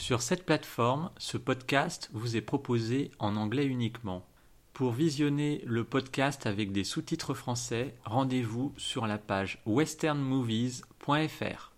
Sur cette plateforme, ce podcast vous est proposé en anglais uniquement. Pour visionner le podcast avec des sous-titres français, rendez-vous sur la page westernmovies.fr.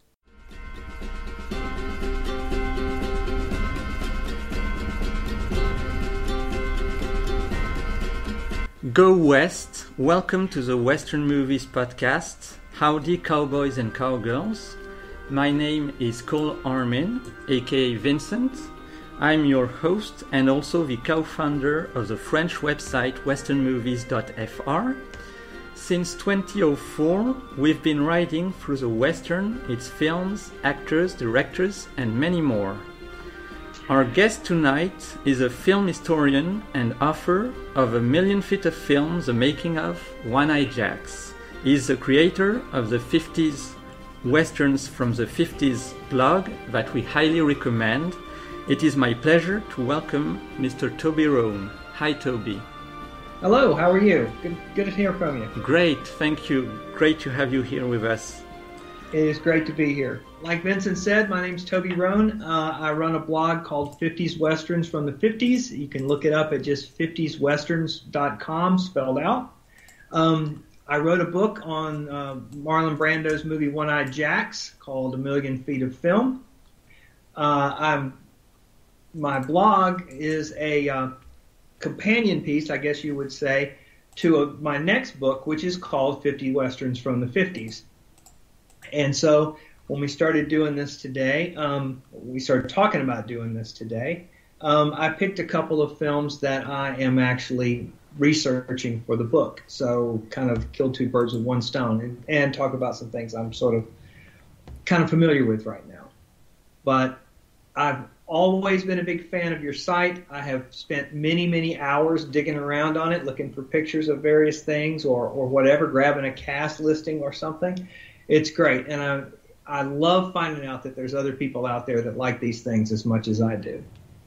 Go West, welcome to the Western Movies podcast. Howdy cowboys and cowgirls. My name is Cole Armin, aka Vincent. I'm your host and also the co-founder of the French website westernmovies.fr. Since 2004, we've been writing through the Western, its films, actors, directors, and many more. Our guest tonight is a film historian and author of A Million Feet of Film, The Making of One-Eyed Jacks. He's the creator of the 50s Westerns from the 50s blog that we highly recommend. It is my pleasure to welcome Mr. Toby Rohn. Hi, Toby. Hello, how are you? Good to hear from you. Great, thank you. Great to have you here with us. It is great to be here. Like Vincent said, my name's Toby Rohn. I run a blog called 50s Westerns from the 50s. You can look it up at just 50swesterns.com, spelled out. I wrote a book on Marlon Brando's movie One-Eyed Jacks called A Million Feet of Film. My blog is a companion piece, I guess you would say, to my next book, which is called 50 Westerns from the 50s. And so when we started doing this today, we started talking about doing this today, I picked a couple of films that I am actually researching for the book. So kind of kill two birds with one stone and talk about some things I'm sort of kind of familiar with right now. But I've always been a big fan of your site. I have spent many, many hours digging around on it, looking for pictures of various things or whatever, grabbing a cast listing or something. It's great. And I love finding out that there's other people out there that like these things as much as I do.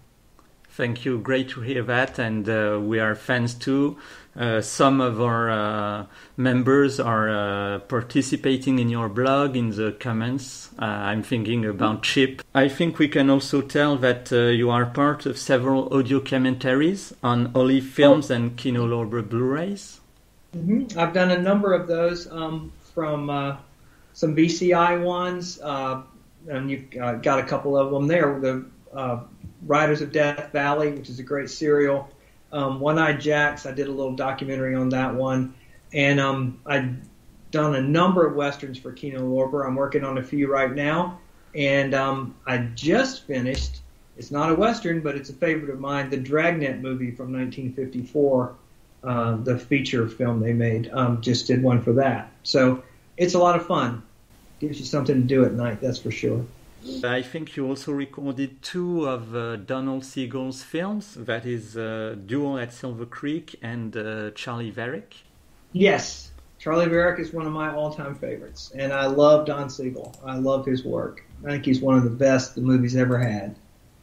Thank you. Great to hear that. And we are fans too. Some of our members are participating in your blog, in the comments. I'm thinking about Chip. I think we can also tell that you are part of several audio commentaries on Olive Films and Kino Lorber Blu-rays. Mm-hmm. I've done a number of those from some VCI ones, and you've got a couple of them there. The Riders of Death Valley, which is a great serial. One-Eyed Jacks, I did a little documentary on that one. And I've done a number of Westerns for Kino Lorber. I'm working on a few right now. And I just finished, it's not a Western, but it's a favorite of mine, the Dragnet movie from 1954, the feature film they made. Just did one for that. So it's a lot of fun. Gives you something to do at night, that's for sure. I think you also recorded two of Donald Siegel's films, that is Duel at Silver Creek and Charlie Varick. Yes, Charlie Varick is one of my all-time favorites, and I love Don Siegel. I love his work. I think he's one of the best the movie's ever had.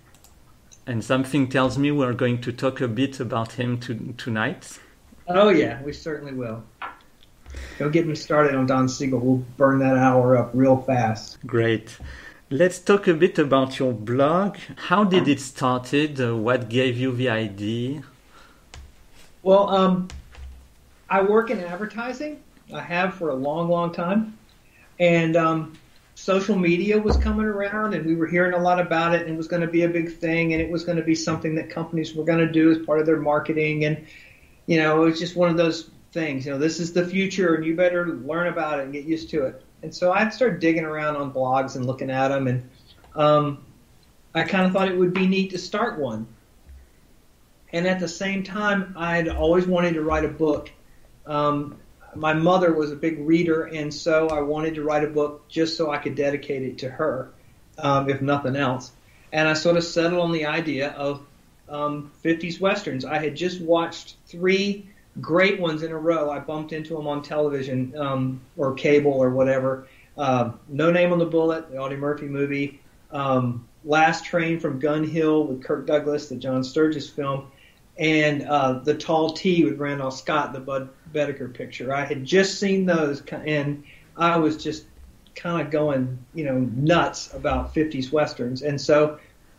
And something tells me we're going to talk a bit about him tonight. Oh yeah, we certainly will. Don't get me started on Don Siegel. We'll burn that hour up real fast. Great. Let's talk a bit about your blog. How did it started? What gave you the idea? Well, I work in advertising. I have for a long, long time. And social media was coming around, and we were hearing a lot about it, and it was going to be a big thing, and it was going to be something that companies were going to do as part of their marketing. And, you know, it was just one of those things. You know, this is the future, and you better learn about it and get used to it. And so I started digging around on blogs and looking at them, and I kind of thought it would be neat to start one. And at the same time, I'd always wanted to write a book. My mother was a big reader, and so I wanted to write a book just so I could dedicate it to her, if nothing else. And I sort of settled on the idea of 50s Westerns. I had just watched 3 great ones in a row. I bumped into them on television or cable or whatever. No Name on the Bullet, the Audie Murphy movie. Last Train from Gun Hill with Kirk Douglas, the John Sturges film. And The Tall T with Randolph Scott, the Bud Bedecker picture. I had just seen those, and I was just kind of going, nuts about 50s Westerns. And so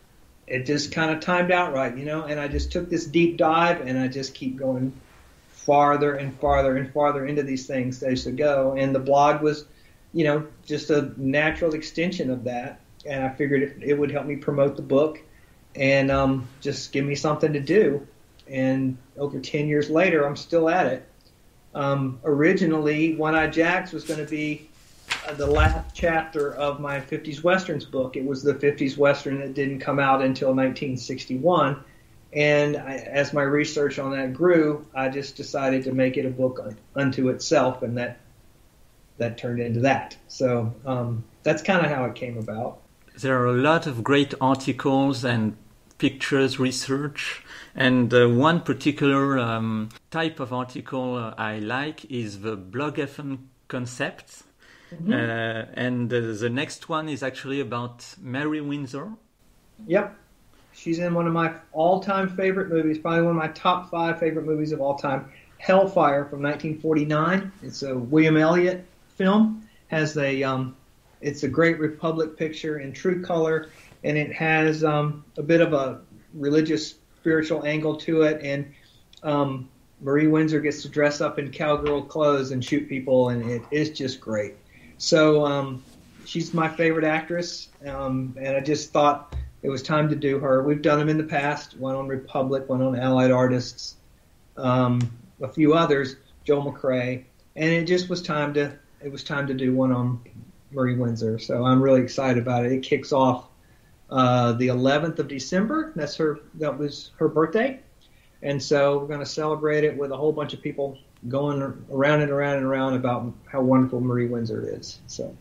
it just kind of timed out right, and I just took this deep dive, and I just keep going farther and farther and farther into these things as I go. And the blog was, just a natural extension of that. And I figured it would help me promote the book and just give me something to do. And over 10 years later, I'm still at it. Originally, One Eye Jacks was going to be the last chapter of my 50s Westerns book. It was the 50s Western that didn't come out until 1961. And as my research on that grew, I just decided to make it a book unto itself, and that turned into that. So that's kind of how it came about. There are a lot of great articles and pictures, research, and one particular type of article I like is the blog FM concept. Mm-hmm. And the next one is actually about Mary Windsor. Yep. She's in one of my all-time favorite movies, probably one of my top 5 favorite movies of all time, Hellfire from 1949. It's a William Elliott film. It's a great Republic picture in true color, and it has a bit of a religious, spiritual angle to it. And Marie Windsor gets to dress up in cowgirl clothes and shoot people, and it is just great. So she's my favorite actress, and I just thought it was time to do her. We've done them in the past, one on Republic, one on Allied Artists, a few others, Joel McCrea, and it just was time to do one on Marie Windsor. So I'm really excited about it. It kicks off the 11th of December. That was her birthday, and so we're going to celebrate it with a whole bunch of people going around and around and around about how wonderful Marie Windsor is. So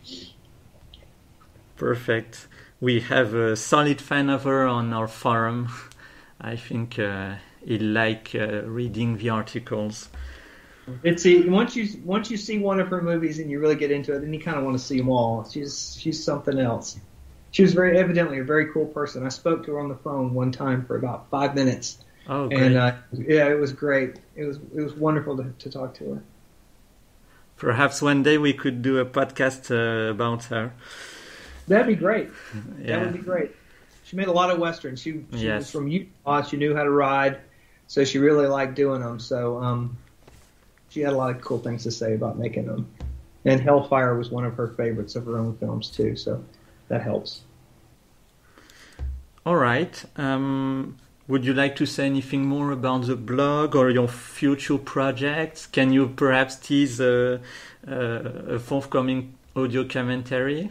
perfect. We have a solid fan of her on our forum. I think he'll like reading the articles. Once you see one of her movies and you really get into it, then you kind of want to see them all. She's something else. She was evidently a very cool person. I spoke to her on the phone one time for about 5 minutes. Oh, great. And it was great. It was wonderful to talk to her. Perhaps one day we could do a podcast about her. That'd be great. Yeah. That would be great. She made a lot of Westerns. She Yes. was from Utah. She knew how to ride, so she really liked doing them. So she had a lot of cool things to say about making them. And Hellfire was one of her favorites of her own films, too, so that helps. All right. Would you like to say anything more about the blog or your future projects? Can you perhaps tease a forthcoming audio commentary?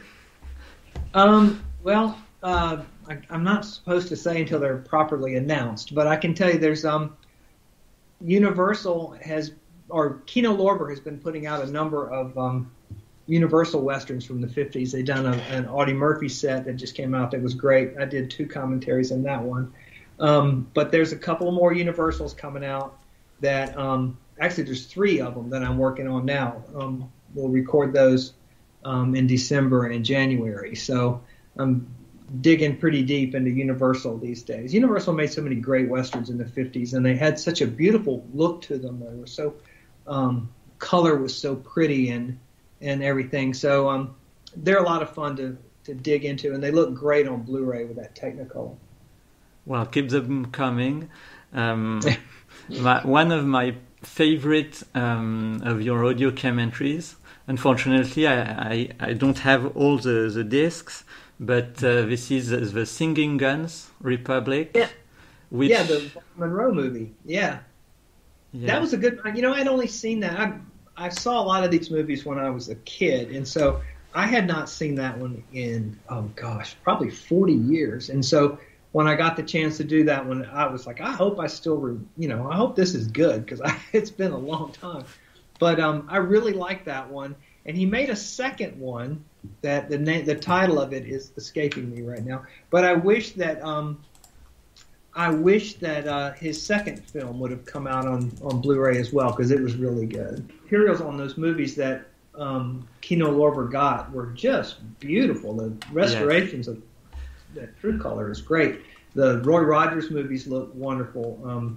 Well, I'm not supposed to say until they're properly announced, but I can tell you there's Universal Kino Lorber has been putting out a number of Universal Westerns from the 50s. They've done an Audie Murphy set that just came out that was great. I did 2 commentaries in that one. But there's a couple more Universals coming out that actually there's 3 of them that I'm working on now. We'll record those in December and January. So I'm digging pretty deep into Universal these days. Universal made so many great Westerns in the 50s, and they had such a beautiful look to them. They were so color was so pretty and everything. So they're a lot of fun to dig into, and they look great on Blu-ray with that Technicolor. Well, keep them coming. One of my favorite of your audio commentaries. Unfortunately, I don't have all the discs, but this is the Singing Guns Republic. Yeah, which, the Monroe movie. Yeah. That was a good. I'd only seen that. I saw a lot of these movies when I was a kid, and so I had not seen that one in probably 40 years. And so when I got the chance to do that one, I was like, I hope I still, I hope this is good because it's been a long time. But I really like that one, and he made a second one that the title of it is escaping me right now. But I wish that his second film would have come out on Blu-ray as well because it was really good. Materials on those movies that Kino Lorber got were just beautiful. The restorations of that True Color is great. The Roy Rogers movies look wonderful.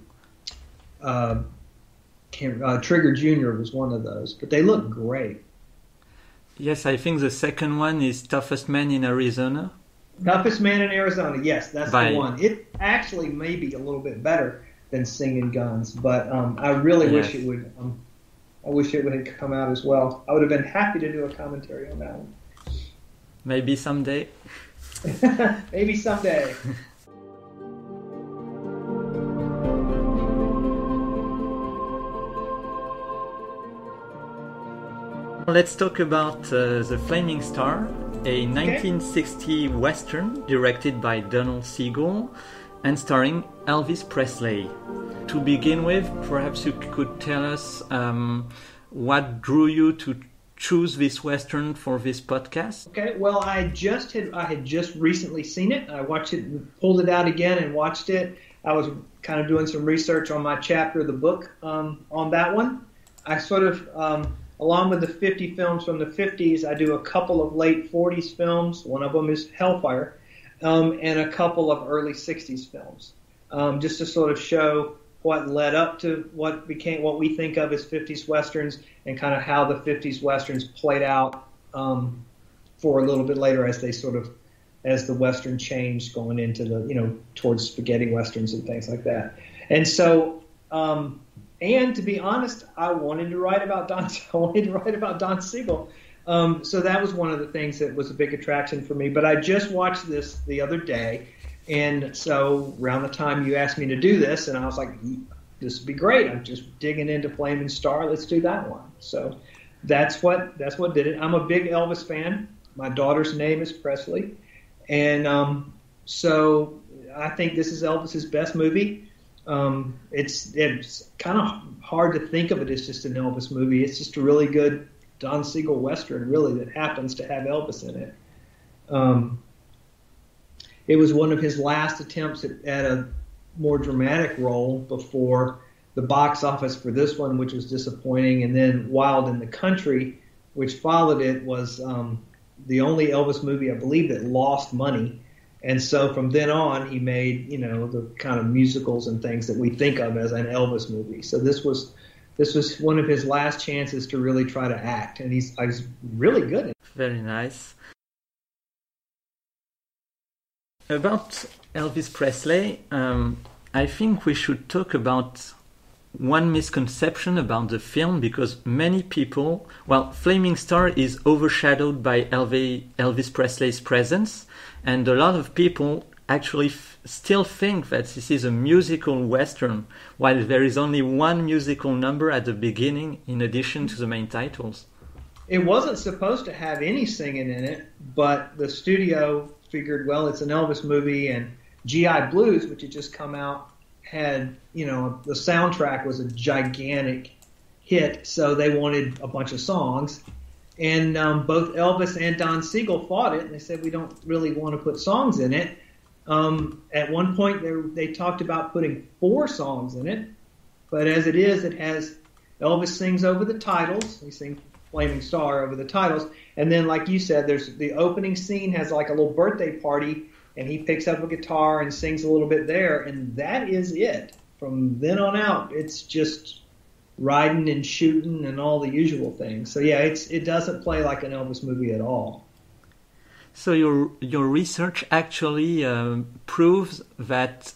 Trigger Jr. was one of those, but they look great. Yes, I think the second one is Toughest Man in Arizona. Toughest Man in Arizona. Yes, that's By, the one. It actually may be a little bit better than Singing Guns, but I really wish it would. I wish it would have come out as well. I would have been happy to do a commentary on that one. Maybe someday. Maybe someday. Let's talk about The Flaming Star, a 1960 Western directed by Donald Siegel and starring Elvis Presley. To begin with, perhaps you could tell us what drew you to choose this Western for this podcast? Okay, well, I had just recently seen it. I watched it, pulled it out again and watched it. I was kind of doing some research on my chapter of the book on that one. I sort of... along with the 50 films from the 50s, I do a couple of late 40s films. One of them is Hellfire, and a couple of early 60s films, just to sort of show what led up to what we think of as 50s Westerns, and kind of how the 50s Westerns played out for a little bit later as the Western changed going into towards spaghetti Westerns and things like that. And so, and to be honest, I wanted to write about Don Siegel. So that was one of the things that was a big attraction for me. But I just watched this the other day, and so around the time you asked me to do this, and I was like, this would be great. I'm just digging into Flaming Star. Let's do that one. So that's what did it. I'm a big Elvis fan. My daughter's name is Presley, and so I think this is Elvis's best movie. It's kind of hard to think of it as just an Elvis movie. It's just a really good Don Siegel Western, really, that happens to have Elvis in it. It was one of his last attempts at a more dramatic role before the box office for this one, which was disappointing, and then Wild in the Country, which followed it, was the only Elvis movie, I believe, that lost money. And so from then on, he made, the kind of musicals and things that we think of as an Elvis movie. So this was one of his last chances to really try to act, and he's really good at it. Very nice. About Elvis Presley, I think we should talk about one misconception about the film, because many people, Flaming Star is overshadowed by Elvis Presley's presence, and a lot of people actually still think that this is a musical Western, while there is only one musical number at the beginning in addition to the main titles. It wasn't supposed to have any singing in it, but the studio figured, well, it's an Elvis movie, and G.I. Blues, which had just come out, had, the soundtrack was a gigantic hit, so they wanted a bunch of songs. And both Elvis and Don Siegel fought it, and they said, we don't really want to put songs in it. At one point, they talked about putting 4 songs in it, but as it is, it has Elvis sings over the titles. He sings Flaming Star over the titles. And then, like you said, there's the opening scene has like a little birthday party, and he picks up a guitar and sings a little bit there, and that is it. From then on out, it's just riding and shooting and all the usual things. So yeah, it doesn't play like an Elvis movie at all. So your research actually proves that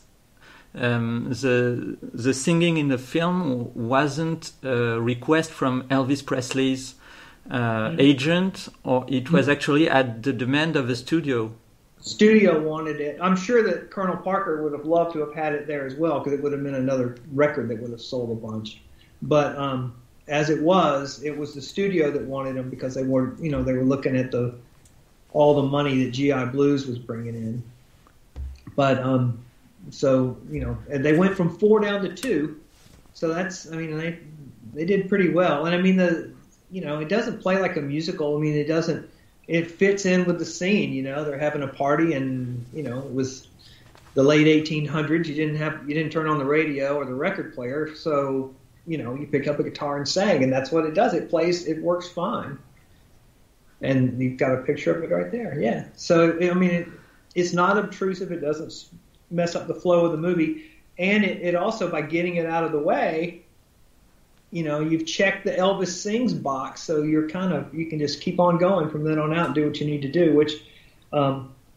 the singing in the film wasn't a request from Elvis Presley's agent, or it was actually at the demand of the studio. Studio wanted it. I'm sure that Colonel Parker would have loved to have had it there as well, because it would have been another record that would have sold a bunch. But as it was the studio that wanted them, because they were looking at all the money that G.I. Blues was bringing in. But so and they went from 4 down to 2. So that's, they did pretty well. And it doesn't play like a musical. It fits in with the scene. They're having a party, and it was the late 1800s. You didn't turn on the radio or the record player, so you pick up a guitar and sang, and that's what it does. It works fine. And you've got a picture of it right there. Yeah. So it's not obtrusive. It doesn't mess up the flow of the movie, and it also, by getting it out of the way, you've checked the Elvis Sings box, so you can just keep on going from then on out and do what you need to do, which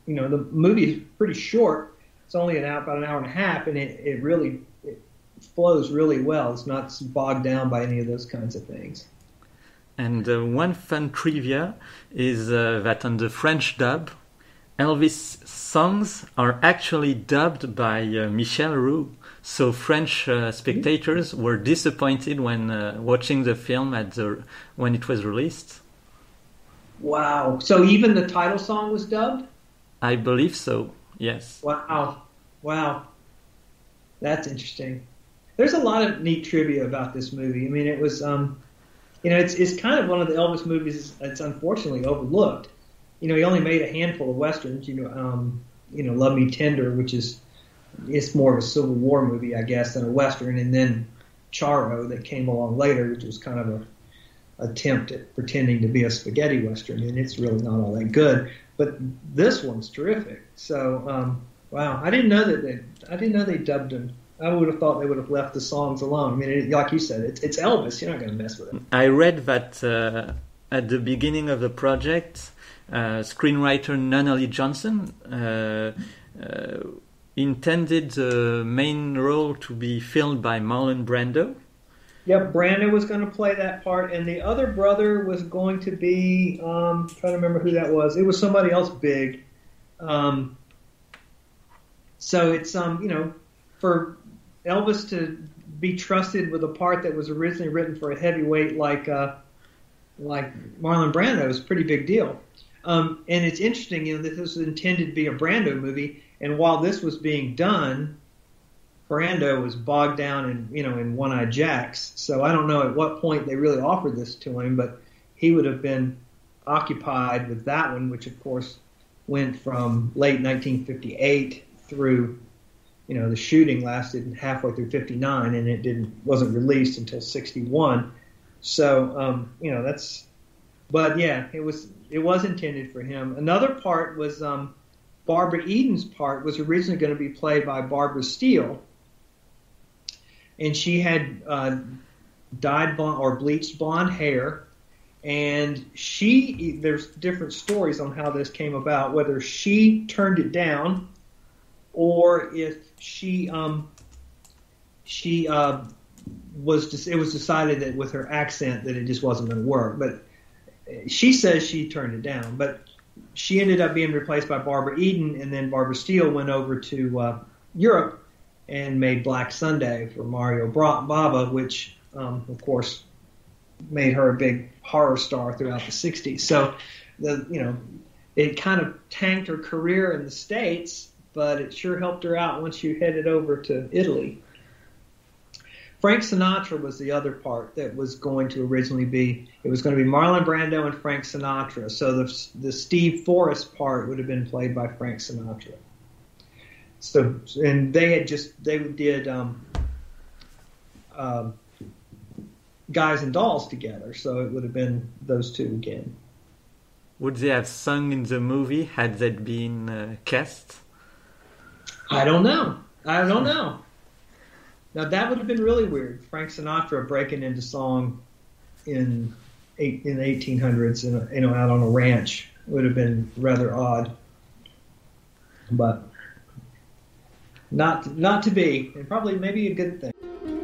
the movie is pretty short. It's only about an hour and a half, and it really flows really well. It's not bogged down by any of those kinds of things. And one fun trivia is that on the French dub, Elvis songs are actually dubbed by Michel Roux. So French spectators were disappointed when watching the film when it was released. Wow. So even the title song was dubbed? I believe so, yes. Wow. That's interesting. There's a lot of neat trivia about this movie. I mean, it was, it's kind of one of the Elvis movies that's unfortunately overlooked. He only made a handful of westerns. Love Me Tender, which it's more of a Civil War movie, I guess, than a western, and then Charo that came along later, which was kind of a attempt at pretending to be a spaghetti western, and it's really not all that good. But this one's terrific. So, wow, I didn't know they dubbed him. I would have thought they would have left the songs alone. I mean, like you said, it's Elvis. You're not going to mess with it. I read that at the beginning of the project, screenwriter Nunnally Johnson intended the main role to be filled by Marlon Brando. Yep, Brando was going to play that part, and the other brother was going to be, trying to remember who that was. It was somebody else big. So it's, for Elvis to be trusted with a part that was originally written for a heavyweight like Marlon Brando is a pretty big deal. And it's interesting, that this was intended to be a Brando movie, and while this was being done, Brando was bogged down in One-Eyed Jacks. So I don't know at what point they really offered this to him, but he would have been occupied with that one, which of course went from late 1958 through, the shooting lasted halfway through 59, and it wasn't released until 61. So, but yeah, it was intended for him. Another part was, Barbara Eden's part was originally going to be played by Barbara Steele, and she had dyed blonde or bleached blonde hair, and there's different stories on how this came about, whether she turned it down or if it was decided that with her accent that it just wasn't going to work. But she says she turned it down, but she ended up being replaced by Barbara Eden, and then Barbara Steele went over to Europe and made Black Sunday for Mario Bava, which, of course, made her a big horror star throughout the 60s. So, it kind of tanked her career in the States, but it sure helped her out once you headed over to Italy. Frank Sinatra was the other part that was going to originally be. It was going to be Marlon Brando and Frank Sinatra. So the Steve Forrest part would have been played by Frank Sinatra. So, and they did Guys and Dolls together. So it would have been those two again. Would they have sung in the movie had that been cast? I don't know. Now that would have been really weird. Frank Sinatra breaking into song in the 1800s, out on a ranch would have been rather odd, but not to be, and probably maybe a good thing.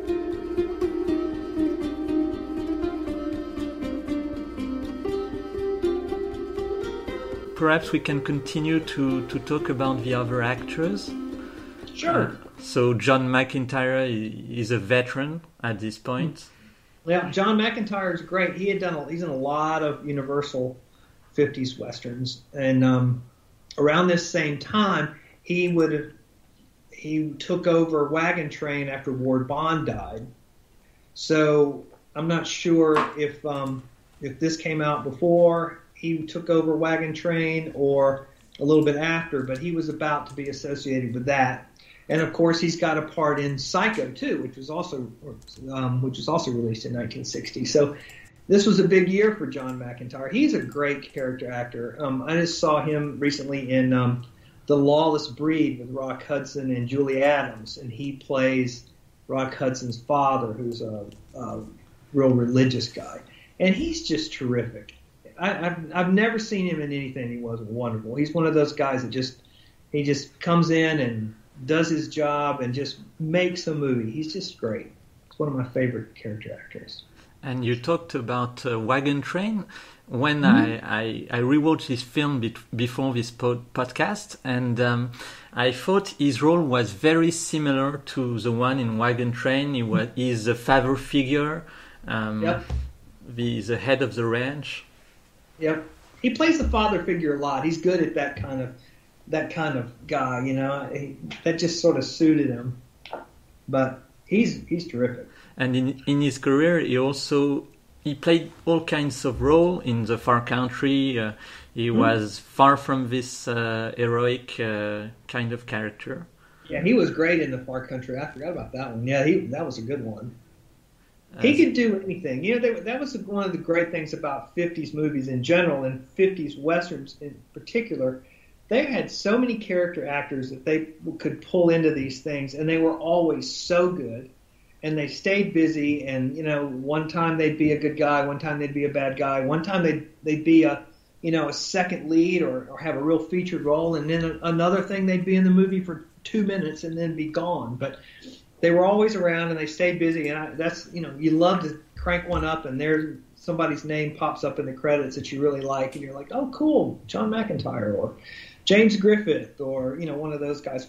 Perhaps we can continue to talk about the other actors. Sure. So John McIntyre is a veteran at this point. Yeah, John McIntyre is great. He's in a lot of Universal 50s westerns, and around this same time, he took over Wagon Train after Ward Bond died. So I'm not sure if this came out before he took over Wagon Train or a little bit after, but he was about to be associated with that. And of course, he's got a part in Psycho too, which was also released in 1960. So this was a big year for John McIntyre. He's a great character actor. I just saw him recently in The Lawless Breed with Rock Hudson and Julie Adams, and he plays Rock Hudson's father, who's a real religious guy, and he's just terrific. I've never seen him in anything he wasn't wonderful. He's one of those guys that he just comes in and does his job and just makes a movie. He's just great. He's one of my favorite character actors. And you talked about Wagon Train. When I rewatched this film before this podcast, and I thought his role was very similar to the one in Wagon Train. He's a father figure, Yep. the head of the ranch. Yep. He plays the father figure a lot. He's good at that kind of guy, you know. That just sort of suited him. But he's terrific. And in his career, he played all kinds of roles in the Far Country. He was far from this heroic kind of character. Yeah, he was great in the Far Country. I forgot about that one. Yeah, that was a good one. He could do anything. You know, that was one of the great things about 50s movies in general, and 50s Westerns in particular. They had so many character actors that they could pull into these things, and they were always so good. And they stayed busy, and, you know, one time they'd be a good guy, one time they'd be a bad guy, one time they'd be a second lead or have a real featured role, and then another thing they'd be in the movie for 2 minutes and then be gone. But they were always around, and they stayed busy, and you love to crank one up, and there's somebody's name pops up in the credits that you really like, and you're like, oh, cool, John McIntyre or James Griffith or, you know, one of those guys,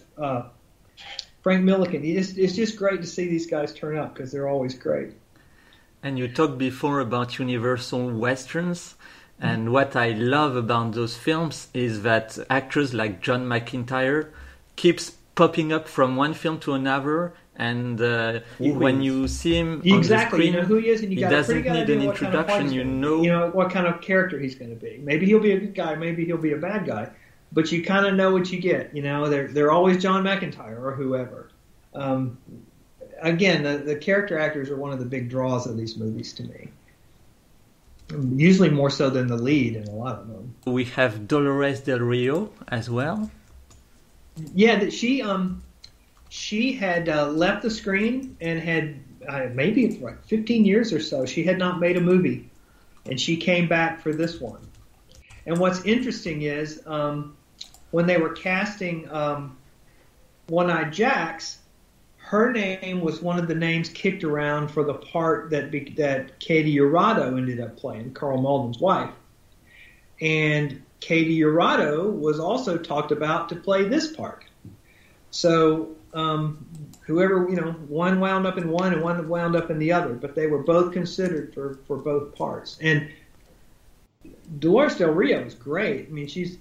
Frank Millican. It's just great to see these guys turn up because they're always great. And you talked before about Universal Westerns, and what I love about those films is that actors like John McIntyre keeps popping up from one film to another, and when you see him on the screen, you know who he is, and he doesn't need an introduction. You know what kind of character he's going to be. Maybe he'll be a good guy, maybe he'll be a bad guy. But you kind of know what you get. You know, they're always John McIntyre or whoever. Again, the character actors are one of the big draws of these movies to me. Usually more so than the lead in a lot of them. We have Dolores Del Rio as well. Yeah, she had left the screen and had maybe like 15 years or so. She had not made a movie, and she came back for this one. And what's interesting is when they were casting One-Eyed Jacks, her name was one of the names kicked around for the part that Katie Jurado ended up playing, Carl Malden's wife. And Katie Jurado was also talked about to play this part. So whoever, you know, one wound up in one and one wound up in the other, but they were both considered for both parts. And Dolores Del Rio is great. I mean, she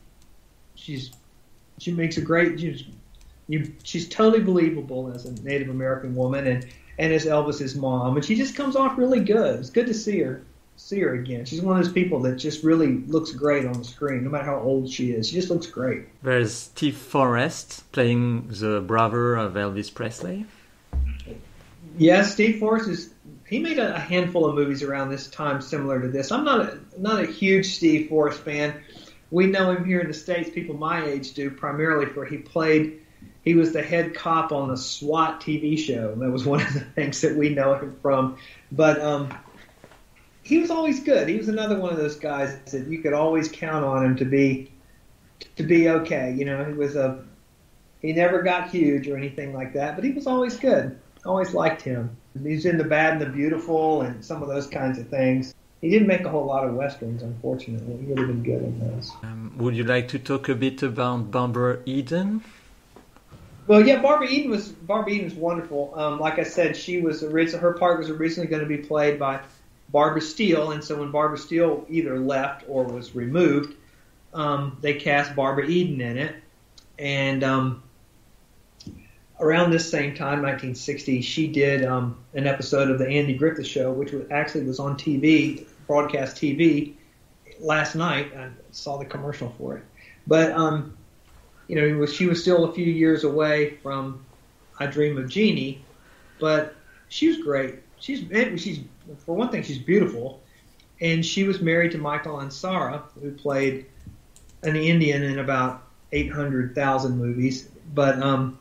makes a great. She's totally believable as a Native American woman and as Elvis's mom, and she just comes off really good. It's good to see her again. She's one of those people that just really looks great on the screen, no matter how old she is. She just looks great. There's Steve Forrest playing the brother of Elvis Presley. Yes, Steve Forrest he made a handful of movies around this time similar to this. I'm not a huge Steve Forrest fan. We know him here in the States, people my age do, primarily for he was the head cop on the SWAT TV show. That was one of the things that we know him from. But he was always good. He was another one of those guys that you could always count on him to be okay. You know, he never got huge or anything like that, but he was always good. Always liked him. He's in The Bad and the Beautiful and some of those kinds of things. He didn't make a whole lot of westerns, unfortunately. He would have been good in those. Would you like to talk a bit about Barbara Eden? Well, yeah, Barbara Eden was wonderful. Like I said, her part was originally going to be played by Barbara Steele, and so when Barbara Steele either left or was removed, they cast Barbara Eden in it. And around this same time, 1960, she did an episode of the Andy Griffith Show, which was on TV, broadcast TV, last night. I saw the commercial for it. But you know, she was still a few years away from I Dream of Jeannie, but she was great. She's for one thing, she's beautiful, and she was married to Michael Ansara, who played an Indian in about 800,000 movies. But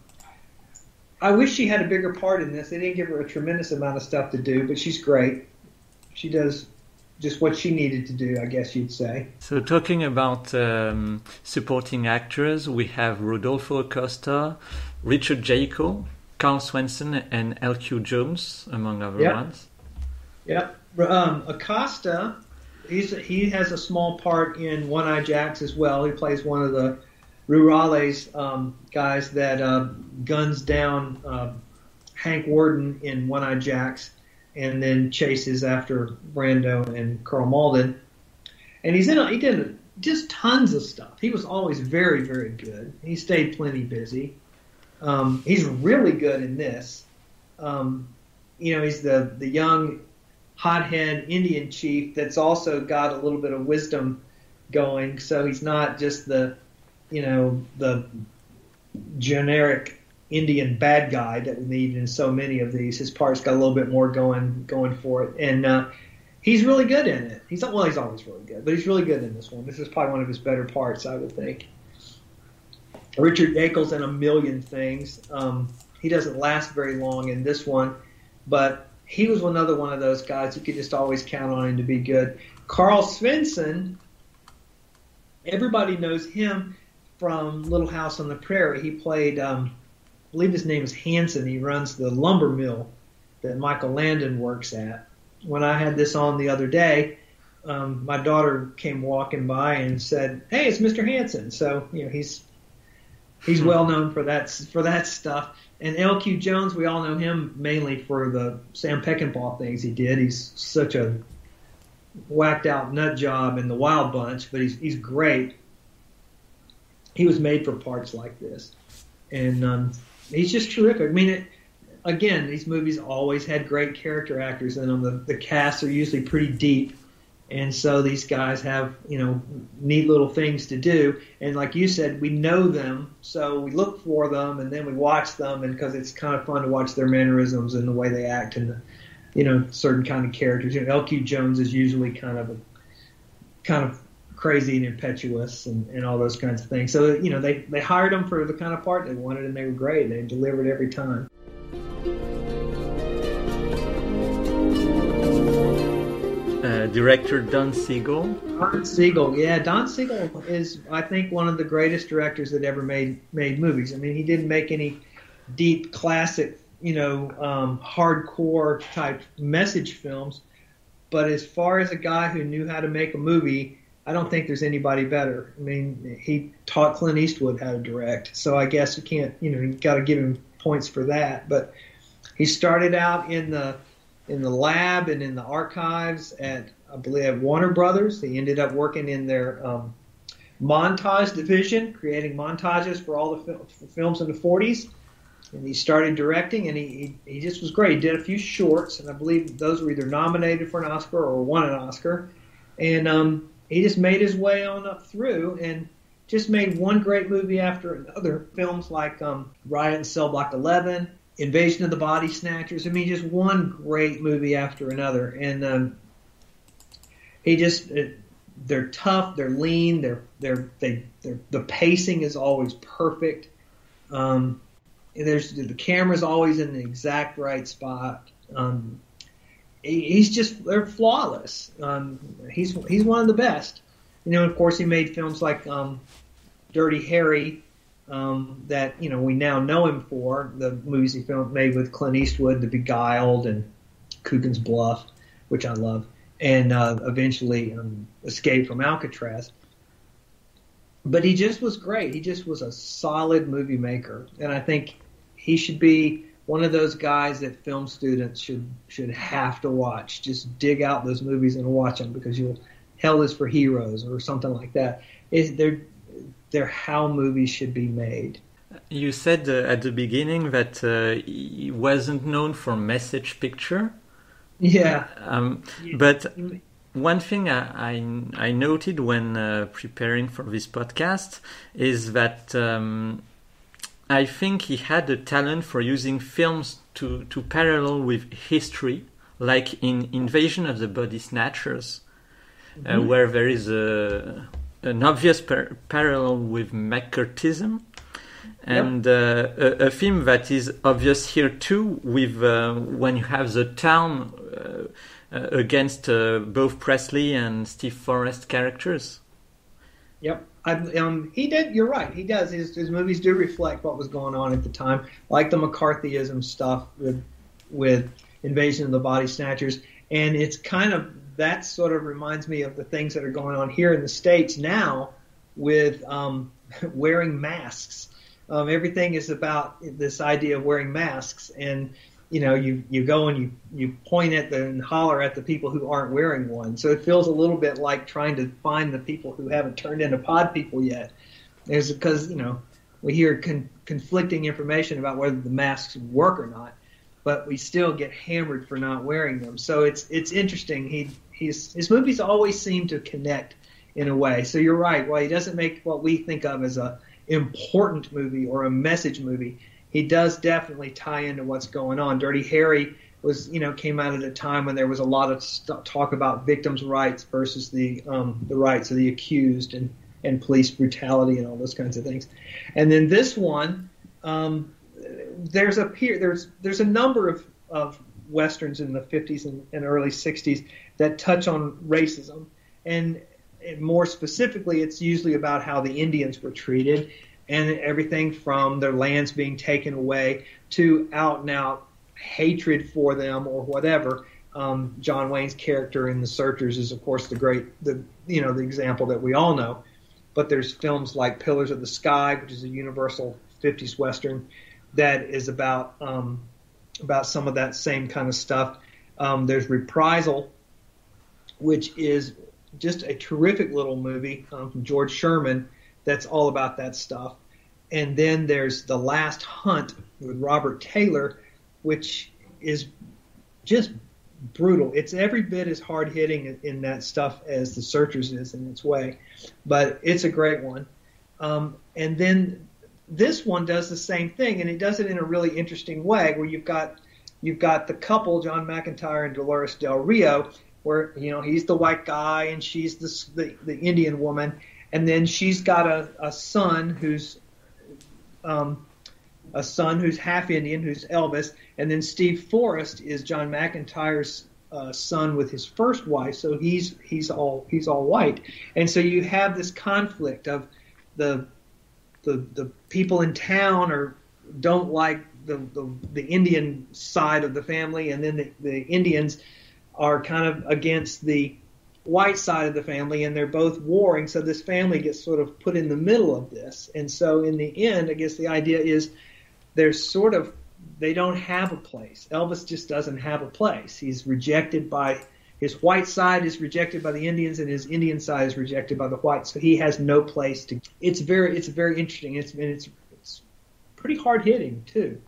I wish she had a bigger part in this. They didn't give her a tremendous amount of stuff to do, but she's great. She does just what she needed to do, I guess you'd say. So talking about supporting actors, we have Rodolfo Acosta, Richard Jaco, Carl Swenson, and L.Q. Jones, among other ones. Yep. Acosta, he has a small part in One Eye Jacks as well. He plays one of the Rurales guys that guns down Hank Worden in One Eye Jacks, and then chases after Brando and Carl Malden. And he did just tons of stuff. He was always very, very good. He stayed plenty busy. He's really good in this. He's the young hothead Indian chief that's also got a little bit of wisdom going. So he's not just the generic Indian bad guy that we need in so many of these. His part's got a little bit more going for it, and he's really good in it. He's always really good, but he's really good in this one. This is probably one of his better parts, I would think. Richard Jaco's in a million things. He doesn't last very long in this one, but he was another one of those guys you could just always count on him to be good. Carl Svensson, everybody knows him from Little House on the Prairie. He played, I believe his name is Hanson. He runs the lumber mill that Michael Landon works at. When I had this on the other day, my daughter came walking by and said, "Hey, it's Mr. Hanson." So he's well known for that stuff. And L.Q. Jones, we all know him mainly for the Sam Peckinpah things he did. He's such a whacked out nut job in The Wild Bunch, but he's great. He was made for parts like this, and he's just terrific. I mean, again, these movies always had great character actors in them. The casts are usually pretty deep, and so these guys have neat little things to do. And like you said, we know them, so we look for them, and then we watch them, and because it's kind of fun to watch their mannerisms and the way they act and certain kind of characters. L.Q. Jones is usually kind of crazy and impetuous and all those kinds of things. So they hired them for the kind of part they wanted, and they were great. They delivered every time. Director Don Siegel. Don Siegel is, I think, one of the greatest directors that ever made movies. I mean, he didn't make any deep classic, hardcore type message films, but as far as a guy who knew how to make a movie, I don't think there's anybody better. I mean, he taught Clint Eastwood how to direct, so I guess you can't, you got to give him points for that. But he started out in the lab and in the archives at, I believe, at Warner Brothers. He ended up working in their montage division, creating montages for all the films in the 40s. And he started directing, and he just was great. He did a few shorts, and I believe those were either nominated for an Oscar or won an Oscar. And he just made his way on up through and just made one great movie after another. Films like Riot in Cell Block 11, Invasion of the Body Snatchers. I mean, just one great movie after another. And they're tough, they're lean, the pacing is always perfect. The camera's always in the exact right spot. They're flawless. He's one of the best. Of course, he made films like Dirty Harry, that we now know him for, the movies he made with Clint Eastwood, The Beguiled and Coogan's Bluff, which I love, and eventually Escape from Alcatraz. But he just was great. He just was a solid movie maker, and I think he should be one of those guys that film students should have to watch. Just dig out those movies and watch them, because Hell is for Heroes or something like that. They're how movies should be made. You said at the beginning that he wasn't known for message picture. Yeah. But one thing I noted when preparing for this podcast is that I think he had a talent for using films to parallel with history, like in Invasion of the Body Snatchers, where there is an obvious parallel with McCarthyism, and a theme that is obvious here too, with when you have the town against both Presley and Steve Forrest characters. Yep. He did. You're right. He does. His movies do reflect what was going on at the time, like the McCarthyism stuff with Invasion of the Body Snatchers, and it's kind of that sort of reminds me of the things that are going on here in the States now with wearing masks. Everything is about this idea of wearing masks, and you go and you point at and holler at the people who aren't wearing one. So it feels a little bit like trying to find the people who haven't turned into pod people yet. It's because we hear conflicting information about whether the masks work or not, but we still get hammered for not wearing them. So it's interesting. His movies always seem to connect in a way. So you're right. While he doesn't make what we think of as a important movie or a message movie, he does definitely tie into what's going on. Dirty Harry came out at a time when there was a lot of talk about victims' rights versus the rights of the accused and police brutality and all those kinds of things. And then this one, there's a number of westerns in the 50s and early 60s that touch on racism, and more specifically, it's usually about how the Indians were treated, and everything from their lands being taken away to out and out hatred for them or whatever. John Wayne's character in The Searchers is, of course, the example that we all know. But there's films like Pillars of the Sky, which is a universal 50s western that is about some of that same kind of stuff. There's Reprisal, which is just a terrific little movie from George Sherman that's all about that stuff. And then there's The Last Hunt with Robert Taylor, which is just brutal. It's every bit as hard-hitting in that stuff as The Searchers is in its way, but it's a great one. And then this one does the same thing, and it does it in a really interesting way, where you've got the couple, John McIntyre and Dolores Del Rio, where he's the white guy and she's the Indian woman, and then she's got a son who's half Indian, who's Elvis, and then Steve Forrest is John McIntyre's son with his first wife, so he's all white, and so you have this conflict of the people in town don't like the Indian side of the family, and then the Indians are kind of against the white side of the family, and they're both warring, so this family gets sort of put in the middle of this. And so in the end, I guess the idea is they don't have a place. Elvis just doesn't have a place. He's rejected by his white side, is rejected by the Indians, and his Indian side is rejected by the whites, so he has no place to. It's very interesting. It's pretty hard hitting too.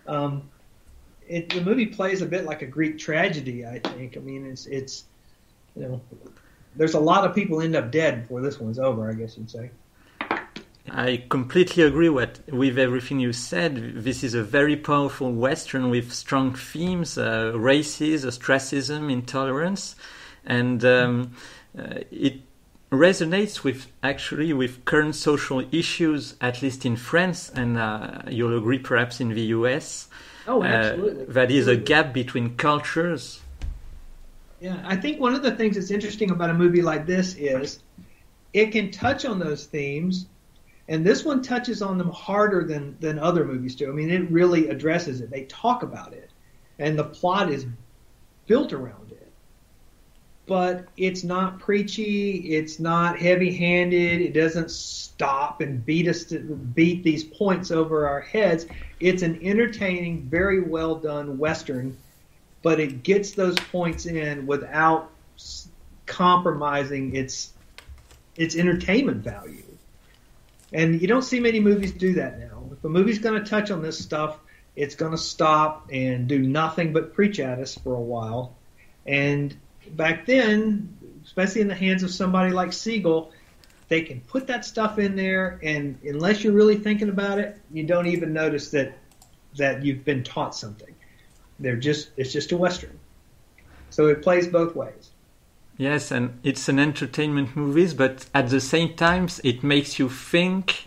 The movie plays a bit like a Greek tragedy, I think. I mean, it's there's a lot of people end up dead before this one's over, I guess you'd say. I completely agree with everything you said. This is a very powerful Western with strong themes, races, ostracism, intolerance, and it resonates with current social issues, at least in France, and you'll agree perhaps in the US. Oh, absolutely. That is a gap between cultures. Yeah, I think one of the things that's interesting about a movie like this is it can touch on those themes, and this one touches on them harder than other movies do. I mean, it really addresses it. They talk about it, and the plot is built around it. But it's not preachy, it's not heavy-handed, it doesn't stop and beat these points over our heads. It's an entertaining, very well done Western, but it gets those points in without compromising its entertainment value. And you don't see many movies do that now. If a movie's going to touch on this stuff, it's going to stop and do nothing but preach at us for a while. And back then, especially in the hands of somebody like Siegel, they can put that stuff in there, and unless you're really thinking about it, you don't even notice that you've been taught something. It's just a Western. So it plays both ways. Yes, and it's an entertainment movie, but at the same time, it makes you think,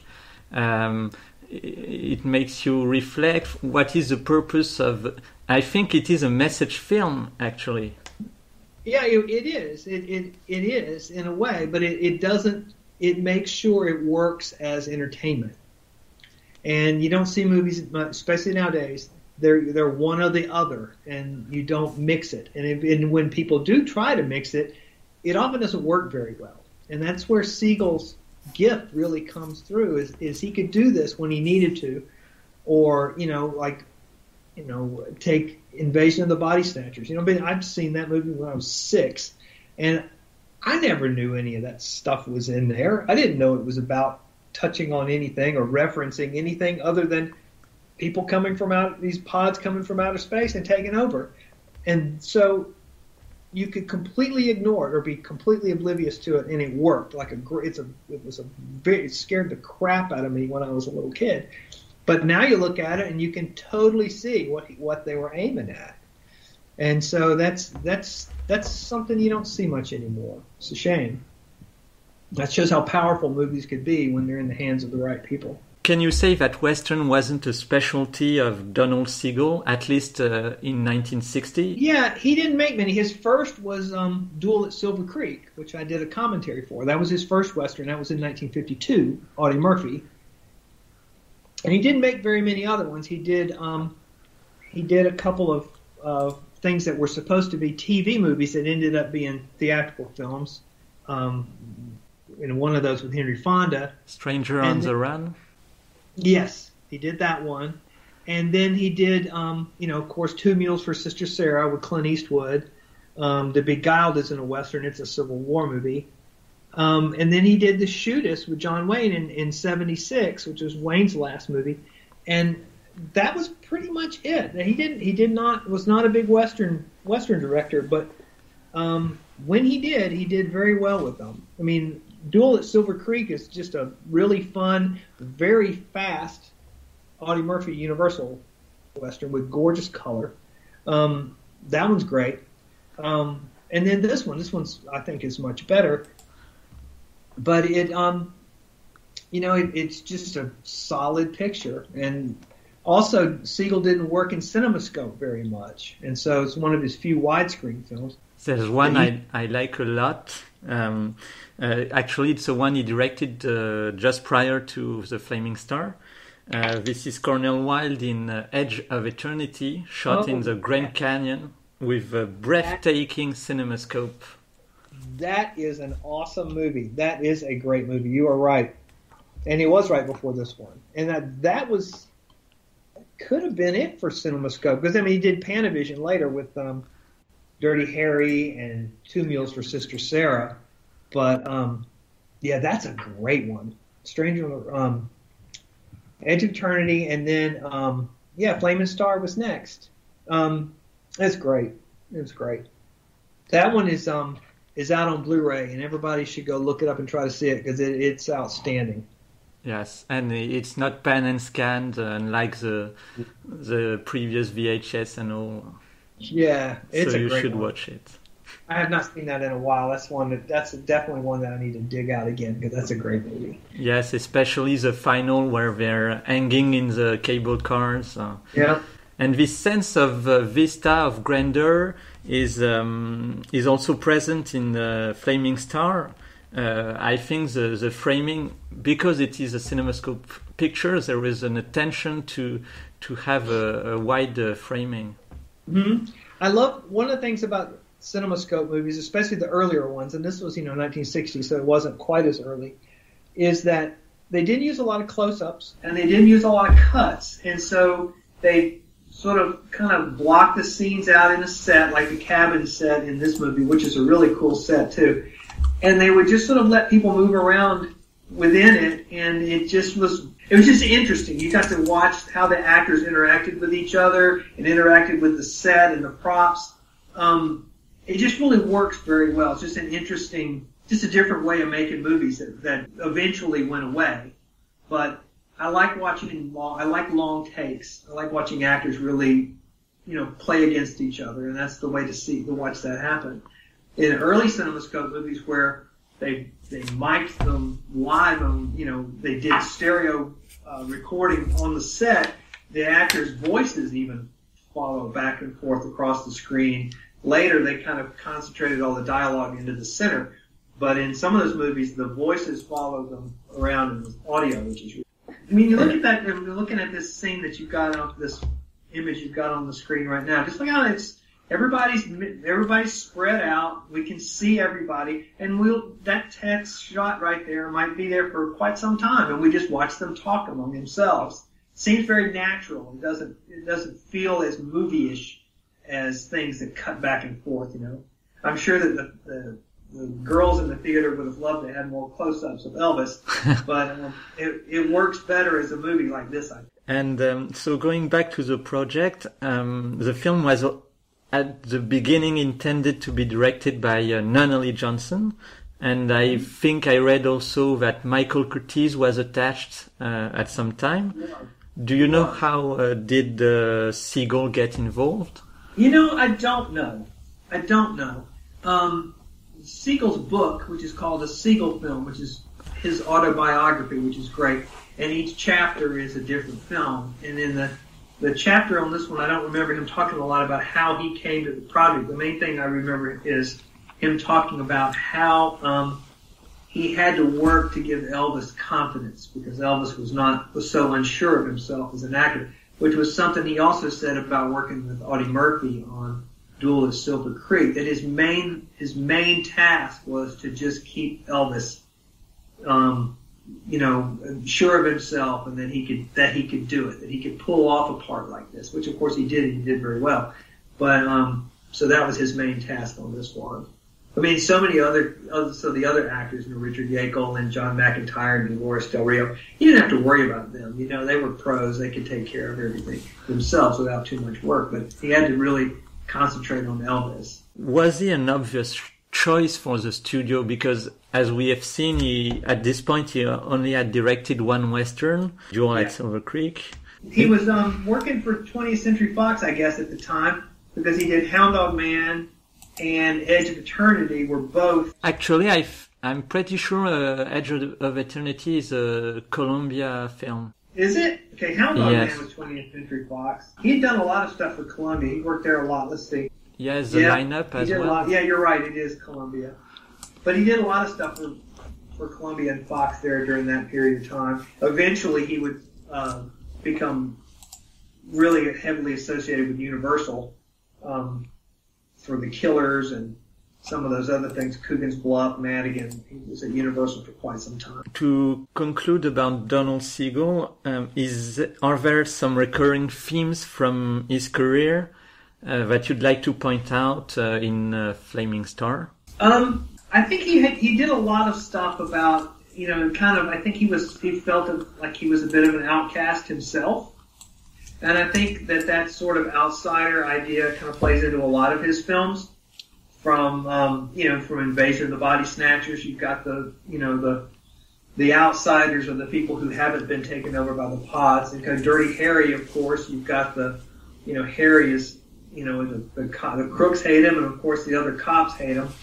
it makes you reflect what is the purpose of. I think it is a message film, actually. Yeah, it is. It is in a way, but it doesn't. It makes sure it works as entertainment. And you don't see movies, especially nowadays. They're one or the other, and you don't mix it. And when people do try to mix it, it often doesn't work very well. And that's where Siegel's gift really comes through. Is he could do this when he needed to, or take Invasion of the Body Snatchers. I've seen that movie when I was 6, and I never knew any of that stuff was in there. I didn't know it was about touching on anything or referencing anything other than people these pods coming from outer space and taking over. And so you could completely ignore it or be completely oblivious to it, and it worked. It scared the crap out of me when I was a little kid. But now you look at it and you can totally see what they were aiming at. And so that's something you don't see much anymore. It's a shame. That shows how powerful movies could be when they're in the hands of the right people. Can you say that Western wasn't a specialty of Donald Siegel, at least in 1960? Yeah, he didn't make many. His first was Duel at Silver Creek, which I did a commentary for. That was his first Western. That was in 1952, Audie Murphy. And he didn't make very many other ones. He did a couple of things that were supposed to be TV movies that ended up being theatrical films. One of those with Henry Fonda. Stranger on the Run? Yes, he did that one. And then he did, of course, Two Mules for Sister Sarah with Clint Eastwood. The Beguiled isn't a Western. It's a Civil War movie. And then he did The Shootist with John Wayne in 76, which was Wayne's last movie. And that was pretty much it. Was not a big Western director, but when he did very well with them. I mean, Duel at Silver Creek is just a really fun, very fast Audie Murphy Universal Western with gorgeous color. That one's great. And then this one's I think is much better. But it's just a solid picture. And also, Siegel didn't work in CinemaScope very much, and so it's one of his few widescreen films. There's one I like a lot. Actually, it's the one he directed just prior to The Flaming Star. This is Cornel Wilde in Edge of Eternity, shot in the Grand Canyon with a breathtaking CinemaScope. That is an awesome movie. That is a great movie. You are right. And he was right before this one. And that could have been it for CinemaScope. Because, he did Panavision later with Dirty Harry and Two Mules for Sister Sarah. But, that's a great one. Edge of Eternity. And then, Flaming Star was next. That's great. It was great. That one is out on Blu-ray, and everybody should go look it up and try to see it because it's outstanding. Yes, and it's not pan and scanned like the previous VHS and all. Yeah, it's so a great one. So you should watch it. I have not seen that in a while. That's definitely one that I need to dig out again because that's a great movie. Yes, especially the final where they're hanging in the cable cars. Yeah. And this sense of vista, of grandeur, is also present in the Flaming Star. I think the framing, because it is a CinemaScope picture, there is an attention to have a wide framing. Mm-hmm. I love one of the things about CinemaScope movies, especially the earlier ones, and this was 1960, so it wasn't quite as early, is that they didn't use a lot of close-ups and they didn't use a lot of cuts, and so they sort of kind of block the scenes out in a set, like the cabin set in this movie, which is a really cool set too. And they would just sort of let people move around within it, and it was just interesting. You got to watch how the actors interacted with each other and interacted with the set and the props. It just really works very well. It's just an interesting, just a different way of making movies that eventually went away. But I like watching I like long takes. I like watching actors really, play against each other, and that's the way to watch that happen. In early CinemaScope movies where they mic'd them live on, they did stereo recording on the set, the actors' voices even follow back and forth across the screen Later, they kind of concentrated all the dialogue into the center. But in some of those movies, the voices follow them around in the audio, which is really cool. I mean, you look at that, and you're looking at this scene that you've got on this image you've got on the screen right now. Just look how everybody's spread out. We can see everybody, and that text shot right there might be there for quite some time, and we just watch them talk among themselves. It seems very natural. It doesn't feel as movie-ish as things that cut back and forth. I'm sure that the girls in the theater would have loved to have more close-ups of Elvis, but it works better as a movie like this, I think. And so going back to the project, the film was at the beginning intended to be directed by Nunnally Johnson, and I think I read also that Michael Curtiz was attached at some time. Yeah. Do you know how did Siegel get involved? I don't know. Siegel's book, which is called A Siegel Film, which is his autobiography, which is great, and each chapter is a different film. And in the chapter on this one, I don't remember him talking a lot about how he came to the project. The main thing I remember is him talking about how he had to work to give Elvis confidence because Elvis was so unsure of himself as an actor, which was something he also said about working with Audie Murphy on Duel at Silver Creek, that his main task was to just keep Elvis, sure of himself, and that he could do it, that he could pull off a part like this, which of course he did, and he did very well. But so that was his main task on this one. I mean, so many the other actors, Richard Yeakel and John McIntyre and Dolores Del Rio, he didn't have to worry about them. They were pros; they could take care of everything themselves without too much work. But he had to really concentrate on Elvis. Was he an obvious choice for the studio? Because as we have seen, at this point he only had directed one Western, Duel at Silver Creek. He was working for 20th Century Fox, I guess, at the time, because he did Hound Dog Man and Edge of Eternity were both... Actually, I'm pretty sure Edge of Eternity is a Columbia film. Is it? Okay, Hound Dog Man was 20th Century Fox. He'd done a lot of stuff for Columbia. He worked there a lot. Let's see. Yes, the lineup as well. Yeah, you're right. It is Columbia. But he did a lot of stuff for Columbia and Fox there during that period of time. Eventually, he would become really heavily associated with Universal for The Killers and some of those other things, Coogan's Bluff, Madigan. He was at Universal for quite some time. To conclude about Donald Siegel, are there some recurring themes from his career that you'd like to point out in Flaming Star? I think he did a lot of stuff about, I think he felt like he was a bit of an outcast himself. And I think that sort of outsider idea kind of plays into a lot of his films. From Invasion of the Body Snatchers, you've got the outsiders or the people who haven't been taken over by the pods. And kind of Dirty Harry, of course, you've got Harry is, the crooks hate him, and of course the other cops hate him.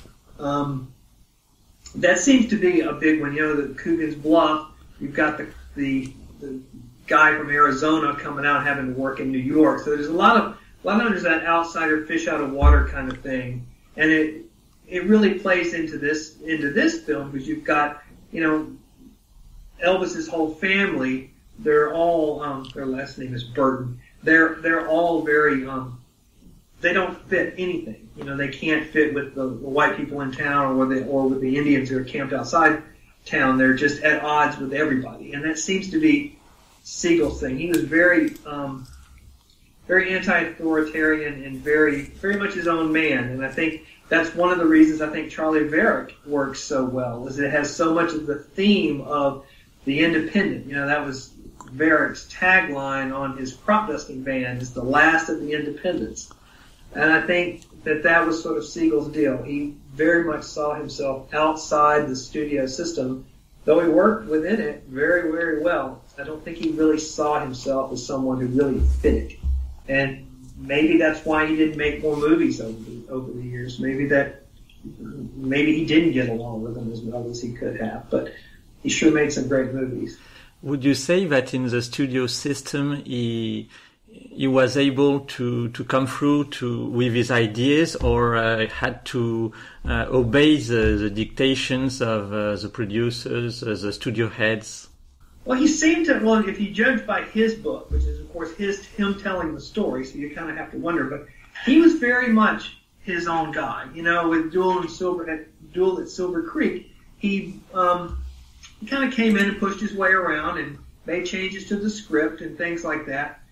That seems to be a big one. The Coogan's Bluff, you've got the guy from Arizona coming out having to work in New York. So there's a lot of there's that outsider fish out of water kind of thing. And it really plays into this film because you've got, Elvis's whole family. They're all their last name is Burton. They're all very they don't fit anything. They can't fit with the white people in town or with the Indians who are camped outside town. They're just at odds with everybody, and that seems to be Siegel's thing. He was very very anti-authoritarian and very, very much his own man. And I think that's one of the reasons I think Charlie Varick works so well, is it has so much of the theme of the independent. That was Varick's tagline on his crop dusting band, is the last of the independents. And I think that was sort of Siegel's deal. He very much saw himself outside the studio system, though he worked within it very, very well. I don't think he really saw himself as someone who really fit it. And maybe that's why he didn't make more movies over the years. Maybe he didn't get along with them as well as he could have. But he sure made some great movies. Would you say that in the studio system he he was able to come through with his ideas, or had to obey the dictations of the producers, the studio heads? Well, he seemed to, well, if you judge by his book, which is, of course, him telling the story, so you kind of have to wonder, but he was very much his own guy. You know, with Duel at Silver Creek, he kind of came in and pushed his way around and made changes to the script and things like that.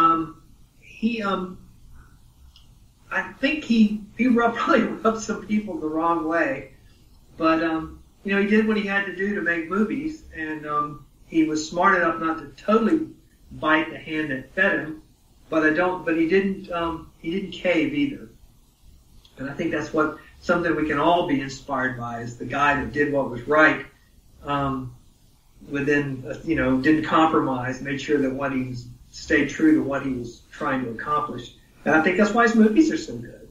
I think he probably rubbed some people the wrong way, but you know, he did what he had to do to make movies, and he was smart enough not to totally bite the hand that fed him, but he didn't cave either. And I think that's something we can all be inspired by, is the guy that did what was right, didn't compromise, made sure that stayed true to what he was trying to accomplish. And I think that's why his movies are so good.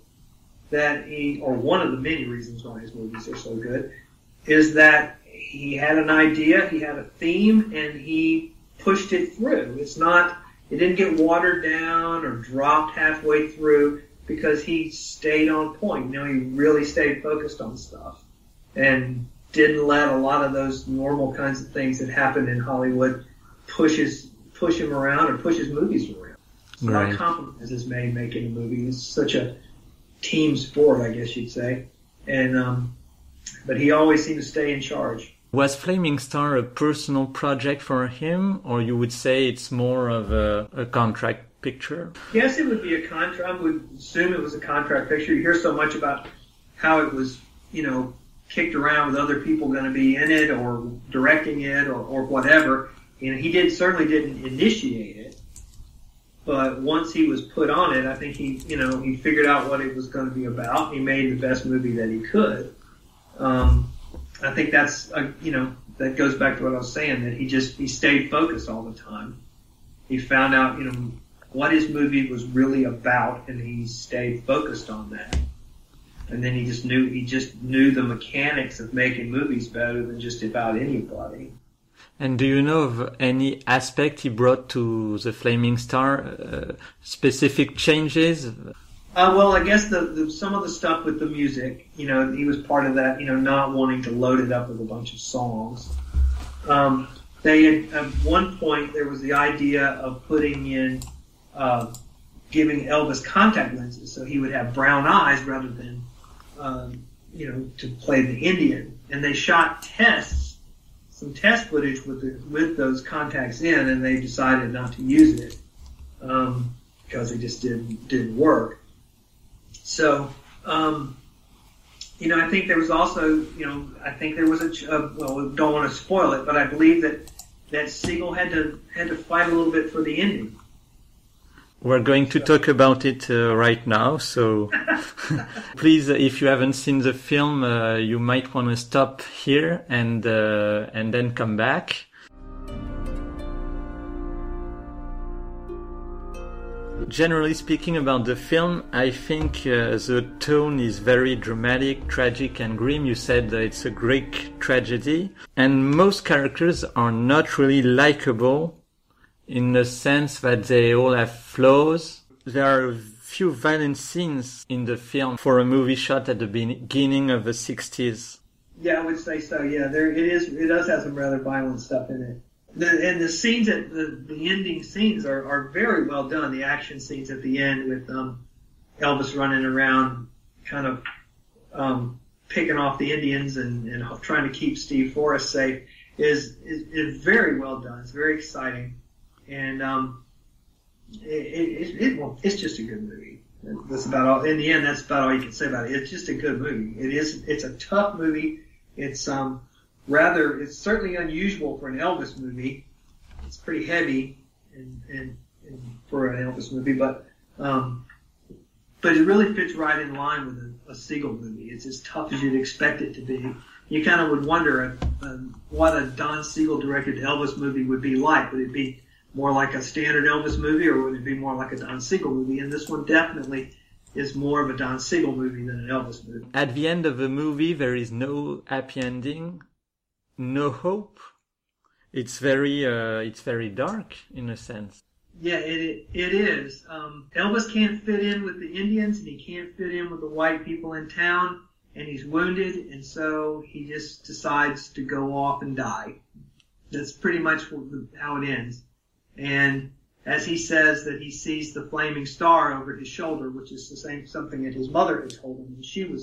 Or one of the many reasons why his movies are so good, is that he had an idea, he had a theme, and he pushed it through. It didn't get watered down or dropped halfway through, because he stayed on point. You know, he really stayed focused on stuff and didn't let a lot of those normal kinds of things that happen in Hollywood push him around or push his movies around. It's a lot of compromises made making a movie. It's such a team sport, I guess you'd say. And but he always seemed to stay in charge. Was Flaming Star a personal project for him, or you would say it's more of a contract picture? Yes, it would be a contract. I would assume it was a contract picture. You hear so much about how it was, you know, kicked around with other people going to be in it or directing it or whatever. And he certainly didn't initiate it. But once he was put on it, I think he figured out what it was going to be about. He made the best movie that he could. I think that's, that goes back to what I was saying, that he stayed focused all the time. He found out, what his movie was really about, and he stayed focused on that. And then he just knew the mechanics of making movies better than just about anybody. And do you know of any aspect he brought to the Flaming Star, specific changes? Well, I guess some of the stuff with the music, he was part of that, not wanting to load it up with a bunch of songs. They had, at one point, there was the idea of putting in, giving Elvis contact lenses, so he would have brown eyes rather than, to play the Indian. And they shot some test footage with those contacts in, and they decided not to use it because it just didn't work. So, I think there was also, don't want to spoil it, but I believe that Siegel had to fight a little bit for the ending. We're going to talk about it right now, so please, if you haven't seen the film, you might want to stop here and then come back. Generally speaking about the film, I think the tone is very dramatic, tragic and grim. You said that it's a Greek tragedy, and most characters are not really likable in the sense that they all have flaws. There are a few violent scenes in the film for a movie shot at the beginning of the 60s. Yeah, I would say so. Yeah, it does have some rather violent stuff in it. And the scenes the ending scenes are very well done. The action scenes at the end with Elvis running around, kind of picking off the Indians and trying to keep Steve Forrest safe is very well done. It's very exciting, and it's just a good movie. That's about all. In the end, that's about all you can say about it. It's just a good movie. It's a tough movie. It's certainly unusual for an Elvis movie. It's pretty heavy and for an Elvis movie, but it really fits right in line with a Siegel movie. It's as tough as you'd expect it to be. You kind of would wonder what a Don Siegel directed Elvis movie would be like. Would it be more like a standard Elvis movie, or would it be more like a Don Siegel movie? And this one definitely is more of a Don Siegel movie than an Elvis movie. At the end of the movie, there is no happy ending. No hope. It's very dark in a sense. Yeah, it is. Elvis can't fit in with the Indians, and he can't fit in with the white people in town, and he's wounded, and so he just decides to go off and die. That's pretty much how it ends. And as he says that he sees the flaming star over his shoulder, which is the same something that his mother had told him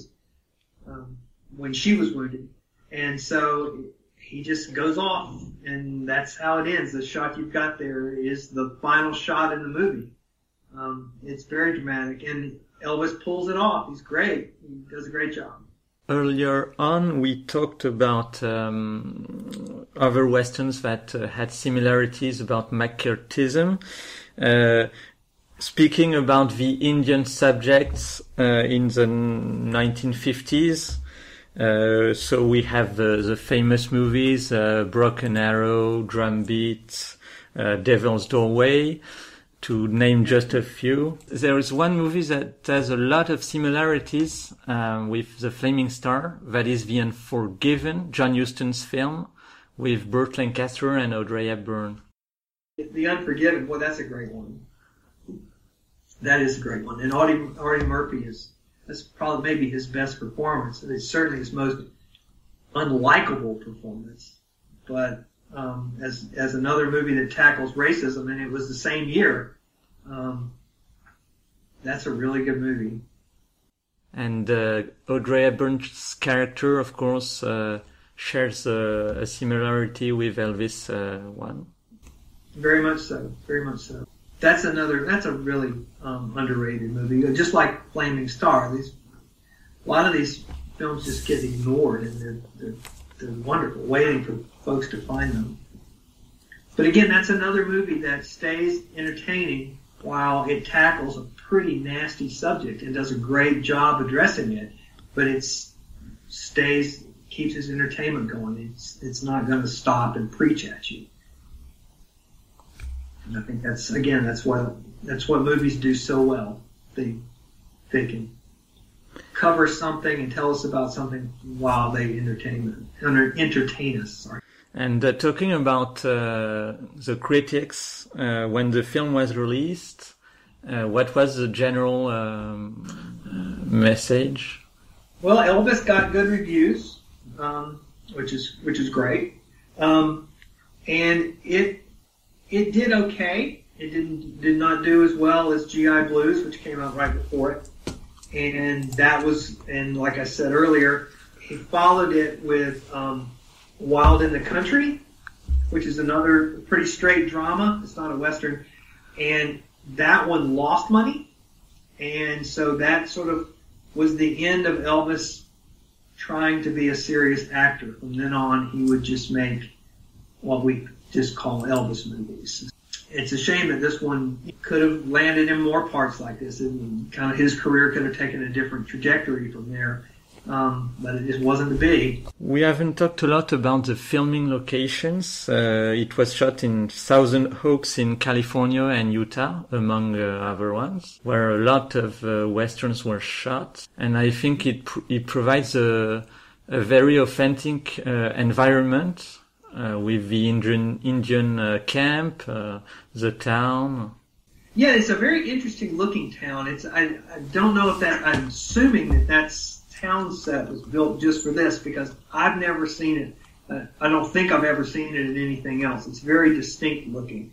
when she was wounded, and so he just goes off, and that's how it ends. The shot you've got there is the final shot in the movie. It's very dramatic, and Elvis pulls it off. He's great. He does a great job. Earlier on, we talked about other westerns that had similarities about McCarthyism. Speaking about the Indian subjects in the 1950s, so we have the famous movies, Broken Arrow, Drumbeat, Devil's Doorway, to name just a few. There is one movie that has a lot of similarities with The Flaming Star, that is The Unforgiven, John Huston's film, with Burt Lancaster and Audrey Hepburn. The Unforgiven, well, that's a great one. That is a great one. And Audie Murphy that's probably maybe his best performance. It's certainly his most unlikable performance. But as another movie that tackles racism, and it was the same year, that's a really good movie. And Audrey Hepburn's character, of course, shares a similarity with Elvis one. Very much so. Very much so. That's a really underrated movie. Just like Flaming Star, a lot of these films just get ignored, and they're wonderful, waiting for folks to find them. But again, that's another movie that stays entertaining while it tackles a pretty nasty subject and does a great job addressing it. But it keeps its entertainment going. It's not going to stop and preach at you. And I think that's what movies do so well. They can cover something and tell us about something while they entertain us. Sorry. And talking about the critics, when the film was released, what was the general message? Well, Elvis got good reviews, which is great, and it did okay. It did not do as well as GI Blues, which came out right before it. And like I said earlier, he followed it with Wild in the Country, which is another pretty straight drama. It's not a Western. And that one lost money. And so that sort of was the end of Elvis trying to be a serious actor. From then on, he would just make what we just call Elvis movies. It's a shame that this one could have landed in more parts like this, and kind of his career could have taken a different trajectory from there, but it just wasn't to be. We haven't talked a lot about the filming locations. It was shot in Thousand Oaks in California and Utah, among other ones, where a lot of westerns were shot, and I think it provides a very authentic environment. With the Indian camp, the town. Yeah, it's a very interesting looking town. I don't know if I'm assuming that's town set was built just for this, because I've never seen it. I don't think I've ever seen it in anything else. It's very distinct looking.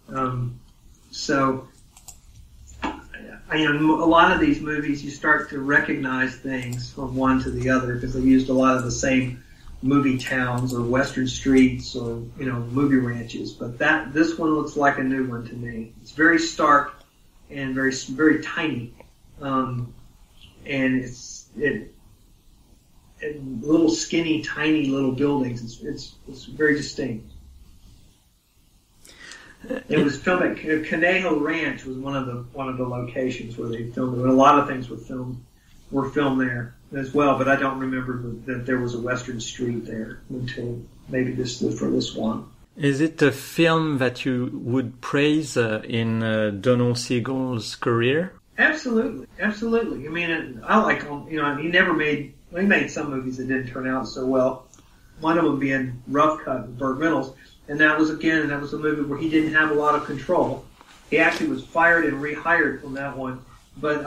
So, a lot of these movies, you start to recognize things from one to the other because they used a lot of the same movie towns or western streets or movie ranches, but this one looks like a new one to me. It's very stark and very very tiny, and it's little skinny tiny little buildings. It's very distinct. It was filmed at Conejo Ranch, was one of the locations where they filmed it. A lot of things were filmed there as well, but I don't remember that there was a Western street there until maybe for this one. Is it a film that you would praise in Donald Siegel's career? Absolutely. I mean, I like him. He made some movies that didn't turn out so well. One of them being Rough Cut with Burt Reynolds, and that was a movie where he didn't have a lot of control. He actually was fired and rehired from that one. But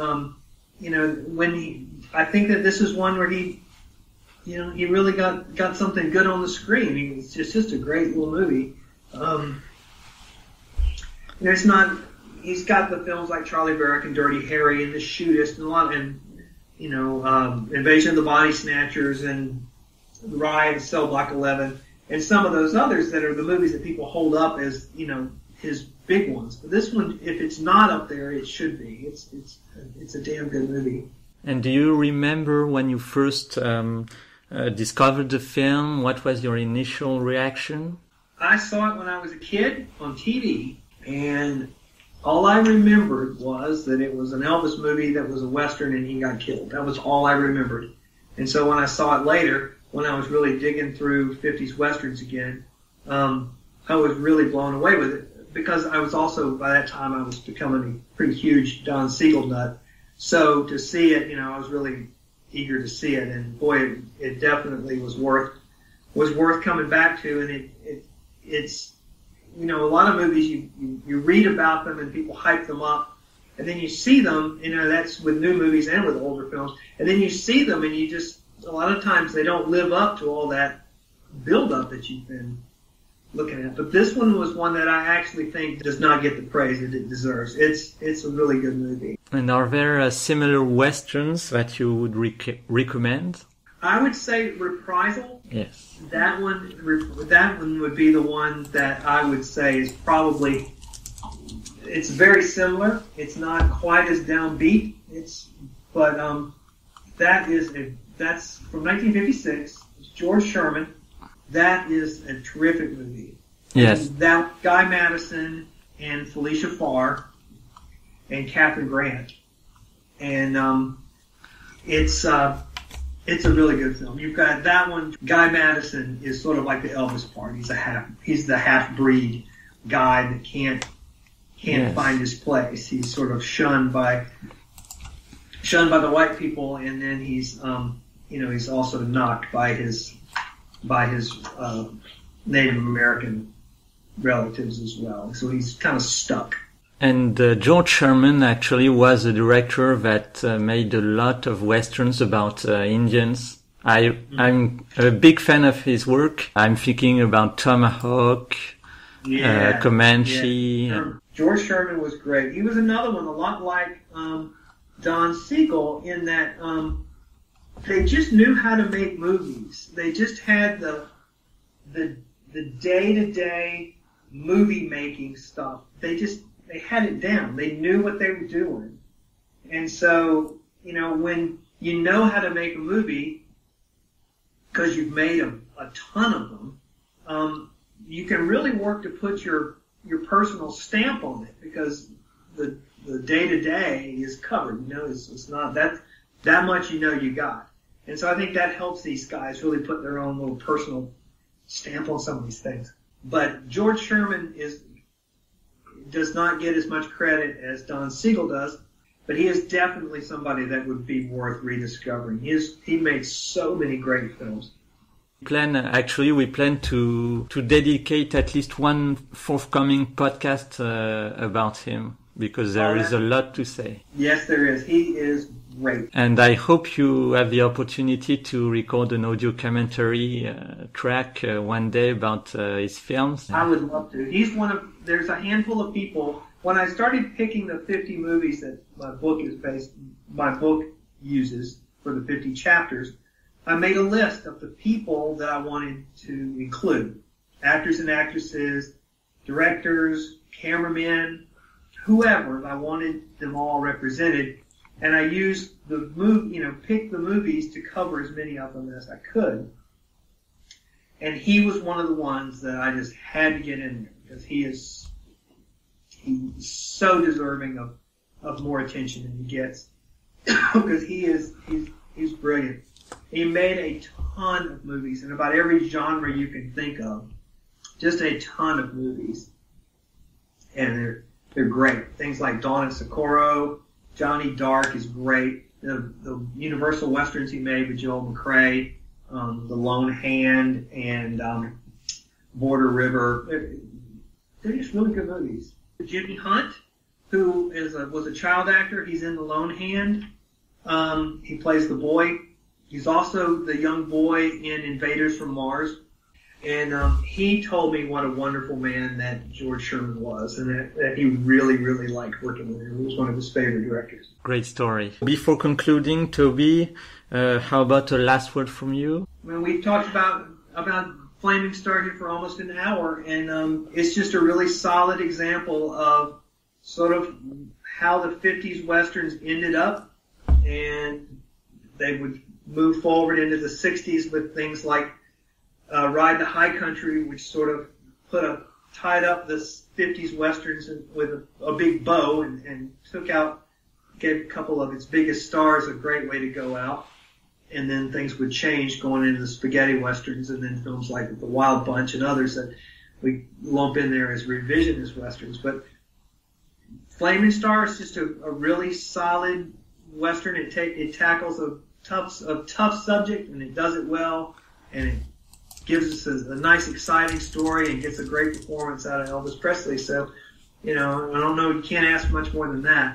I think that this is one where he really got something good on the screen. It's just a great little movie. He's got the films like Charlie Varick and Dirty Harry and The Shootist and Invasion of the Body Snatchers and Riot and Cell Block 11 and some of those others that are the movies that people hold up as, his big ones. But this one, if it's not up there, it should be. It's a damn good movie. And do you remember when you first discovered the film? What was your initial reaction? I saw it when I was a kid on TV, and all I remembered was that it was an Elvis movie that was a Western and he got killed. That was all I remembered. And so when I saw it later, when I was really digging through 50s Westerns again, I was really blown away with it. Because I was also, by that time, I was becoming a pretty huge Don Siegel nut. So to see it, I was really eager to see it. And boy, it definitely was worth coming back to. And it's a lot of movies, you read about them and people hype them up. And then you see them, that's with new movies and with older films. And then you see them and a lot of times they don't live up to all that build-up that you've been looking at. But this one was one that I actually think does not get the praise that it deserves. It's a really good movie. And are there similar Westerns that you would recommend? I would say Reprisal. Yes. That one would be the one that I would say is probably, it's very similar. It's not quite as downbeat. But that's from 1956. It's George Sherman. That is a terrific movie. Yes. And that Guy Madison and Felicia Farr and Catherine Grant. And it's a really good film. You've got that one. Guy Madison is sort of like the Elvis part. He's the half-breed guy that can't Yes. find his place. He's sort of shunned by the white people, and then he's also knocked by his Native American relatives as well. So he's kind of stuck. And George Sherman actually was a director that made a lot of Westerns about Indians. I'm a big fan of his work. I'm thinking about Tomahawk, Comanche. Yeah. George Sherman was great. He was another one, a lot like Don Siegel, in that they just knew how to make movies. They just had the day-to-day movie making stuff. They had it down. They knew what they were doing. And so, when you know how to make a movie, because you've made a ton of them, you can really work to put your personal stamp on it, because the day-to-day is covered. It's not that much you got. And so I think that helps these guys really put their own little personal stamp on some of these things. But George Sherman does not get as much credit as Don Siegel does, but he is definitely somebody that would be worth rediscovering. He makes so many great films. We plan to dedicate at least one forthcoming podcast about him, because there is a lot to say. Yes, there is. He is great. And I hope you have the opportunity to record an audio commentary track one day about his films. I would love to. There's a handful of people. When I started picking the 50 movies that my book uses for the 50 chapters, I made a list of the people that I wanted to include. Actors and actresses, directors, cameramen, whoever. I wanted them all represented. And I used picked the movies to cover as many of them as I could. And he was one of the ones that I just had to get in there, because he's so deserving of more attention than he gets. Because he's brilliant. He made a ton of movies in about every genre you can think of. Just a ton of movies. And they're great. Things like Dawn of Socorro, Johnny Dark is great. The Universal Westerns he made with Joel McCrea, The Lone Hand, and Border River. They're just really good movies. Jimmy Hunt, who was a child actor. He's in The Lone Hand. He plays the boy. He's also the young boy in Invaders from Mars. And he told me what a wonderful man that George Sherman was, and that he really, really liked working with him. He was one of his favorite directors. Great story. Before concluding, Toby, how about a last word from you? Well, we've talked about Flaming Star here for almost an hour, and it's just a really solid example of sort of how the 50s Westerns ended up, and they would move forward into the 60s with things like Ride the High Country, which sort of tied up this 50s Westerns with a big bow and gave a couple of its biggest stars a great way to go out. And then things would change going into the spaghetti Westerns, and then films like The Wild Bunch and others that we lump in there as revisionist Westerns. But Flaming Star is just a really solid Western. It tackles a tough subject, and it does it well, and it gives us a nice, exciting story and gets a great performance out of Elvis Presley. So, I don't know, you can't ask much more than that.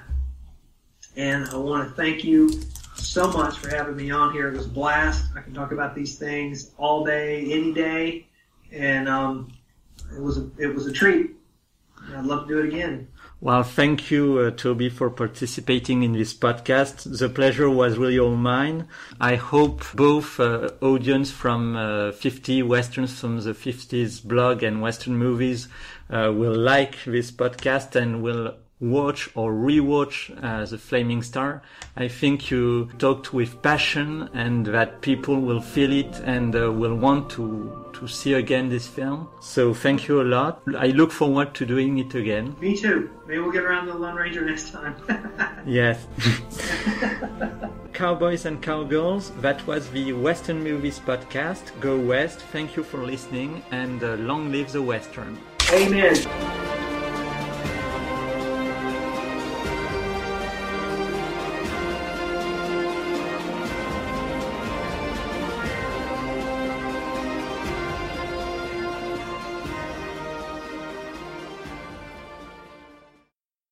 And I want to thank you so much for having me on here. It was a blast. I can talk about these things all day, any day, and it was a treat. And I'd love to do it again. Well, thank you, Toby, for participating in this podcast. The pleasure was really all mine. I hope both audience from 50 Westerns from the 50s blog and Western movies will like this podcast and will watch or rewatch The Flaming Star. I think you talked with passion, and that people will feel it and will want to see again this film. So thank you a lot. I look forward to doing it again. Me too. Maybe we'll get around to the Lone Ranger next time. Yes. Cowboys and Cowgirls, that was the Western Movies podcast. Go West. Thank you for listening, and long live the Western. Amen.